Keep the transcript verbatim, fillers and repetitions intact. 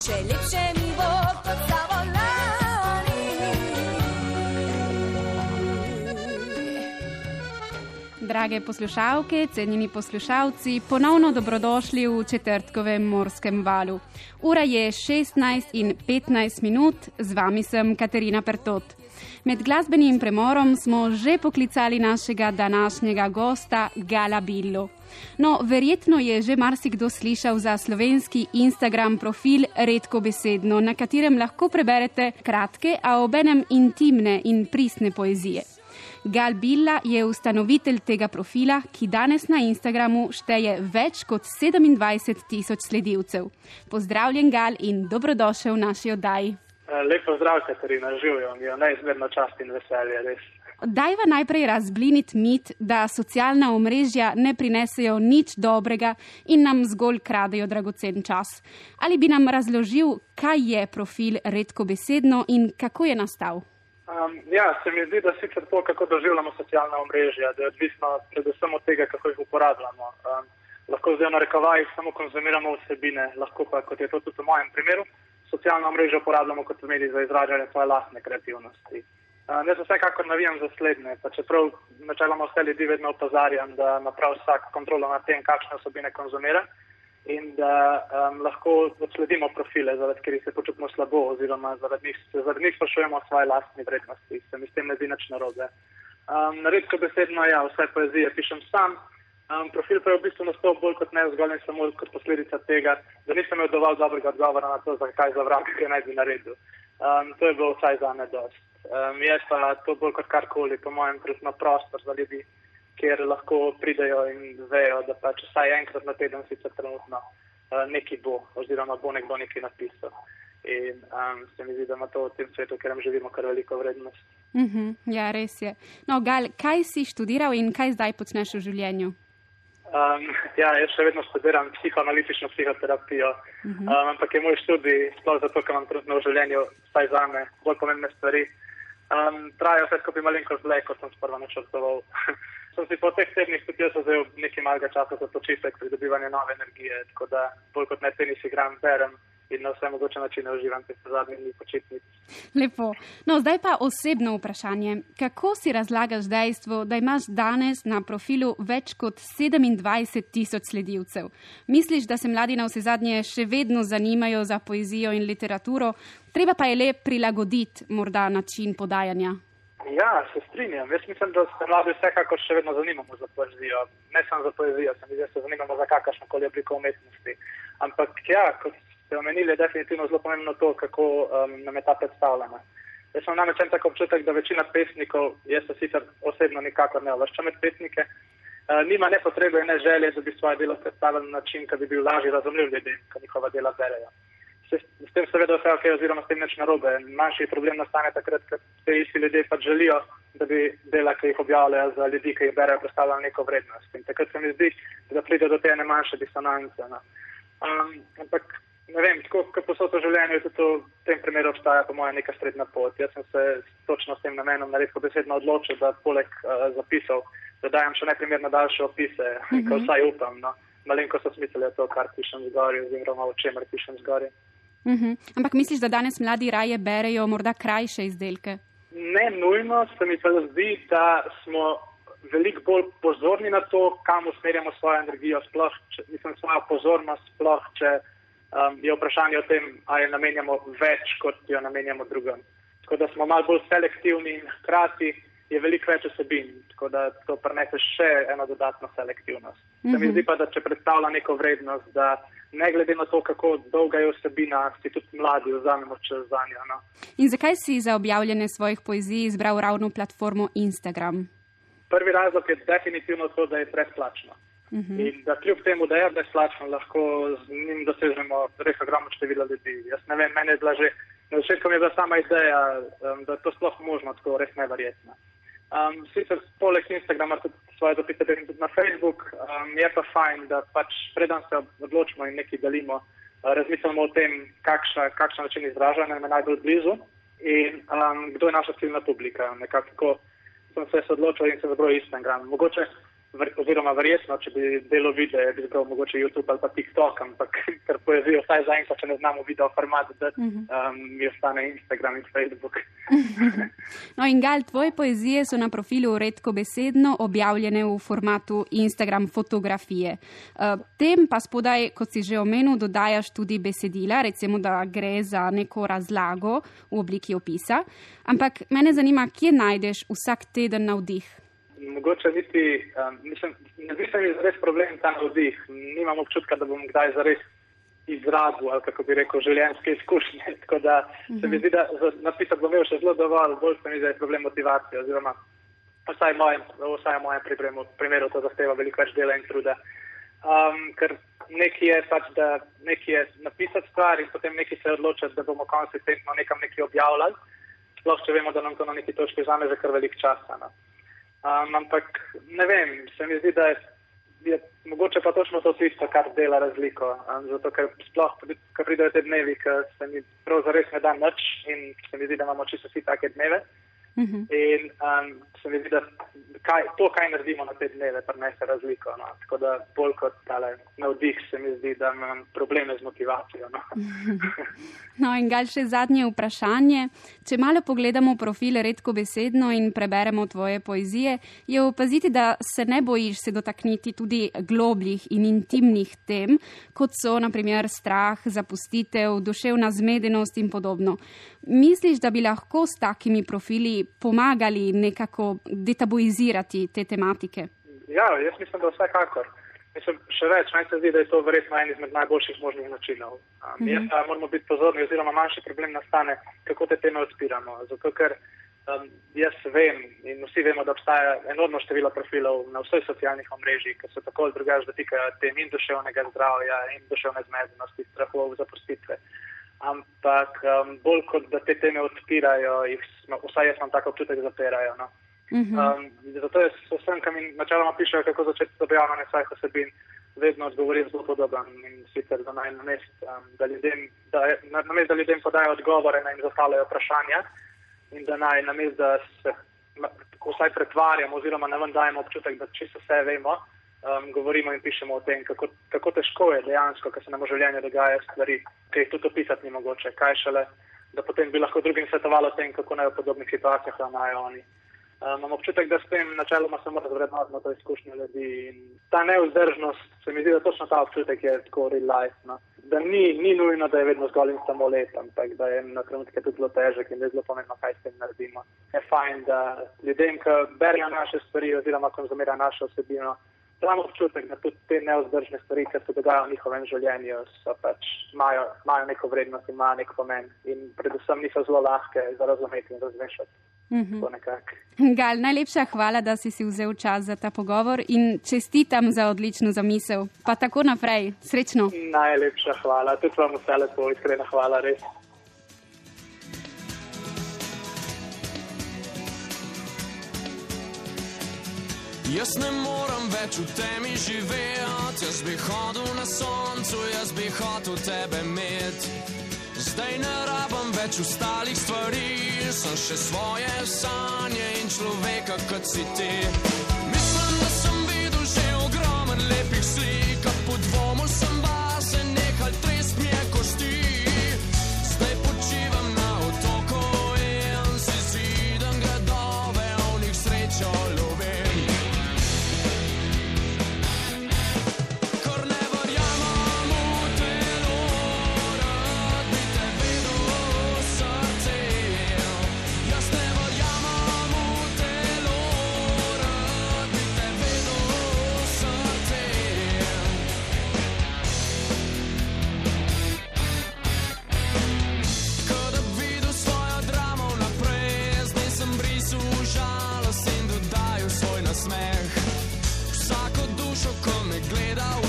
Če lepše mi bo kot Savolani. Drage poslušalke, cenjeni poslušalci, ponovno dobrodošli v četrtkovem Morskem valu. Ura je šestnajst in petnajst minut, z vami sem Katarina Pertot. Med glasbenim premorom smo že poklicali našega današnjega gosta Gala Billo. No, verjetno je že marsikdo slišal za slovenski Instagram profil Redkobesedno, na katerem lahko preberete kratke, a obenem intimne in pristne poezije. Gal Billa je ustanovitelj tega profila, ki danes na Instagramu šteje več kot sedemindvajset tisoč sledilcev. Pozdravljen, Gal, in dobrodošel v naši oddaji. Lep pozdrav, Katarina, živijo, mi je neizmerno čast in veselje, res. Dajva najprej razbliniti mit, da socialna omrežja ne prinesejo nič dobrega in nam zgolj kradejo dragocen čas. Ali bi nam razložil, kaj je profil Redkobesedno in kako je nastal? Um, ja, se mi zdi, da sicer to, kako doživljamo socialna omrežja, da je odvisno predvsem od tega, kako jih uporabljamo. Um, lahko zdaj v narekovajih samo konzumiramo vsebine, lahko pa, kot je to tudi v mojem primeru, socialna omrežja uporabljamo kot medij za izražanje svoje lastne kreativnosti. Uh, jaz vsekakor navijam za slednje, pa čeprav načeloma vse ljudi vedno opozarjam, da ima prav vsak kontrolo nad tem, kakšne vsebine konzumira in da um, lahko odsledimo profile, zaradi katerih se počutimo slabo oziroma zaradi njih, zaradi njih sprašujemo o svoje lastni vrednosti. Se mi s tem ne zdi nič narobe. Um, Redkobesedno, ja, vse poezije pišem sam. Um, profil pa je v bistvu nastal bolj kot ne zgolj in samo kot posledica tega, da nisem imel dovolj dobrega odgovora na to, zakaj za vrag, kaj naj bi naredil. Um, to je bilo vsaj za me dost. Um, je pa to bolj kot karkoli, po mojem, predvsem prostor za ljudi, kjer lahko pridejo in vejo, da pač vsaj enkrat na teden sicer trenutno uh, nekaj bo, oziroma bo nekdo nekaj napisal. In um, se mi zdi, da ima to v tem svetu, v katerem živimo, kar veliko vrednost. Uh-huh, ja, res je. No, Gal, kaj si študiral in kaj zdaj počneš v življenju? Um, ja, jaz še vedno študiram psihoanalitično psihoterapijo, uh-huh. um, ampak je moj študij, sploh zato, ker imam trenutno v življenju, vsaj zame, bolj pomembne stvari. Um, traja vse skupaj malenkost dlje, kot sem sprva načrtoval. sem si po teh tednih tudi jaz vzel nekaj malega časa za počitek, pridobivanje nove energije, tako da bolj kot ne tenis igram, berem in na vse mogoče načine uživam teh zadnjih dni počitnic. Lepo. No, zdaj pa osebno vprašanje. Kako si razlagaš dejstvo, da imaš danes na profilu več kot sedemindvajset tisoč sledilcev? Misliš, da se mladi na vse zadnje še vedno zanimajo za poezijo in literaturo, treba pa je le prilagoditi morda način podajanja? Ja, se strinjam. Jaz mislim, da se mladi vsekakor še vedno zanimamo za poezijo. Ne samo za poezijo, se mi zdi, da se zanimamo za kakršnokoli obliko umetnosti. Ampak ja, kot ste omenili, je definitivno zelo pomembno to, kako um, nam je ta predstavljena. Jaz sem namreč en tak občutek, da večina pesnikov, jaz se sicer osebno nikakor ne uvrščam med pesnike, uh, nima ne potrebe in ne želje, da bi svoje delo predstavili na način, ki bi bil lažje razumljiv ljudem, ko njihova dela berejo. S tem seveda vse ok, oziroma s tem nič narobe. Manjši problem nastane takrat, ker te isti ljudje pač želijo, da bi dela, ki jih objavljajo za ljudi, ki jih berejo, predstavljali neko vrednost. In takrat se mi zdi, da pride do te manjše disonance. No. Um, ampak, ne vem, tako kot posod v življenju, tudi v tem primeru obstaja po mojem neka srednja pot. Jaz sem se točno s tem namenom na Redkobesedno odločil, da poleg uh, zapisov dodajam še najprimerno daljše opise, mm-hmm. ko vsaj upam. No. Malenko so smiselje to, kar pišem zgoraj, oziroma o čemer pišem zgoraj. Uh-huh. Ampak misliš, da danes mladi raje berejo morda krajše izdelke? Ne nujno, se mi pa zdi, da smo veliko bolj pozorni na to, kam usmerjamo svojo energijo, sploh, če, mislim, svojo pozornost, sploh, če um, je vprašanje o tem, ali namenjamo več, kot jo namenjamo drugim. Tako da smo malo bolj selektivni in hkrati je veliko več vsebin, tako da to prinese še eno dodatno selektivnost. Uh-huh. Se mi zdi pa, da če predstavlja neko vrednost, da ne glede na to, kako dolga je vsebina, si tudi mladi vzamemo čas zanjo. No. In zakaj si za objavljanje svojih poezij izbral ravno platformo Instagram? Prvi razlog je definitivno to, da je brezplačno. Uh-huh. In da kljub temu, da je brezplačno, lahko z njim dosežemo res ogromno število ljudi. Jaz ne vem, meni je bila že, na začetku mi je bila sama ideja, um, da je to sploh možno, tako res neverjetno. Um, sicer poleg Instagrama tudi svoje dopise tudi na Facebook, um, je pa fajn, da pač preden se odločimo in nekaj delimo, uh, razmislimo o tem, kakšna, kakšna način izražanja nam je najbolj blizu in um, kdo je naša ciljna publika. Nekako sem se odločil in se zabrojil Instagram. Mogoče oziroma verjetno, če bi delo videa, bi zbral mogoče YouTube ali pa TikTok, ampak ker poezijo vsaj zaenkrat, če ne znamo video format, da um, mi ostane Instagram in Facebook. No in Gal, tvoje poezije so na profilu redkobesedno objavljene v formatu Instagram fotografije. Uh, tem pa spodaj, kot si že omenil, dodajaš tudi besedila, recimo, da gre za neko razlago v obliki opisa. Ampak mene zanima, kje najdeš vsak teden navdih? Mogoče niti, um, mislim, ne zdi se mi zares problem ta navdih. Nimam občutka, da bom kdaj zares izrazil, ali kako bi rekel, življenjske izkušnje. Tako da se mi zdi, da napisati bom imel še zelo dovolj, bolj se mi zdi, da je problem motivacije, oziroma vsaj v mojem, vsaj v mojem primeru, primeru to zahteva veliko več dela in truda. Um, ker nekaj je pač, da nekaj je napisati stvar in potem nekaj se odločati, da bomo konsistentno nekam nekaj objavljali, sploh če vemo, da nam to na neki točki vzame že kar veliko časa. No. Um, ampak ne vem, se mi zdi, da je, je mogoče pa točno to tisto, kar dela razliko. Um, zato, ker sploh, ko pridejo te dnevi, ker se mi prav zares ne da nič in se mi zdi, da imamo čisto vsi take dneve. Uh-huh. In um, se mi zdi, da kaj, to, kaj naredimo na te dneve, prinese razliko. No. Tako da bolj kot tale navdih se mi zdi, da imam probleme z motivacijo. No, no in Gal, še zadnje vprašanje. Če malo pogledamo profil redkobesedno in preberemo tvoje poezije, je opaziti, da se ne bojiš se dotakniti tudi globljih in intimnih tem, kot so na primer strah, zapustitev, duševna zmedenost in podobno. Misliš, da bi lahko s takimi profili pomagali nekako detabuizirati te tematike? Ja, jaz mislim, da vsekakor. Mislim, še več, meni se zdi, da je to verjetno en izmed najboljših možnih načinov. Um, mm-hmm. Jaz pa moramo biti pozorni, oziroma manjši problem nastane, kako te teme odpiramo. Zato, ker um, jaz vem in vsi vemo, da obstaja enormno število profilov na vseh socialnih omrežjih, ki se tako ali drugače dotikajo tem in duševnega zdravja in duševne zmedenosti, strahov, zapustitve. Ampak um, bolj kot da te teme odpirajo, jih, vsaj jaz imam tako občutek, zapirajo. No. Mm-hmm. Um, zato jaz vsem, ki mi načeloma pišejo, kako začeti objavljanje svojih osebin, vedno odgovorim zelo podoben in sicer, da naj namest, um, da ljudem, da, na, namest, da ljudem podajo odgovore, naj jim zastavljajo vprašanja in da naj namest, da se vsaj pretvarjamo oziroma ne vam dajemo občutek, da čisto vse vemo, um, govorimo in pišemo o tem, kako, kako težko je dejansko, ker se nam v življenju dogajajo stvari, ki jih tudi opisati ni mogoče, kaj šele, da potem bi lahko drugim svetovalo o tem, kako naj v podobnih situacijah ravnajo oni. Um, imam občutek, da s tem načeloma samo razvrednotimo to izkušnjo ljudi in ta neuzdržnost, se mi zdi, da točno ta občutek je tako real life, no? Da ni, ni nujno, da je vedno zgolj in samo let, ampak da je na trenutke tudi zelo težek in da je zelo pomembno, kaj s tem naredimo. Je fajn, da ljudem, ki berijo naše stvari oziroma konzumirajo našo osebino, damo občutek, da tudi te neuzdržne stvari, ki se dogajajo v njihovem življenju, so pač, imajo, imajo neko vrednost in imajo nek pomen in predvsem niso zelo lahke za razumeti in razmešati. Mm-hmm. Gal, najlepša hvala, da si si vzel čas za ta pogovor in čestitam za odlično zamisel. Pa tako naprej. Srečno. Najlepša hvala. Tudi vam vse lepo, iskrena hvala, res. Jaz ne moram več v temi živeti, jaz bi hodil na soncu, jaz bi hotel tebe imeti. Zdaj ne rabam več ostalih stvari, sem še svoje sanje in človeka, kot si ti. Mislim, da sem videl že ogromen lepih slik, a po dvomu sem bazen, nehal trest mi je kosti. Zdaj počivam na otoku in si zidam gradove, v njih srečo lovim. Smeh, vsako dušo, ko me gleda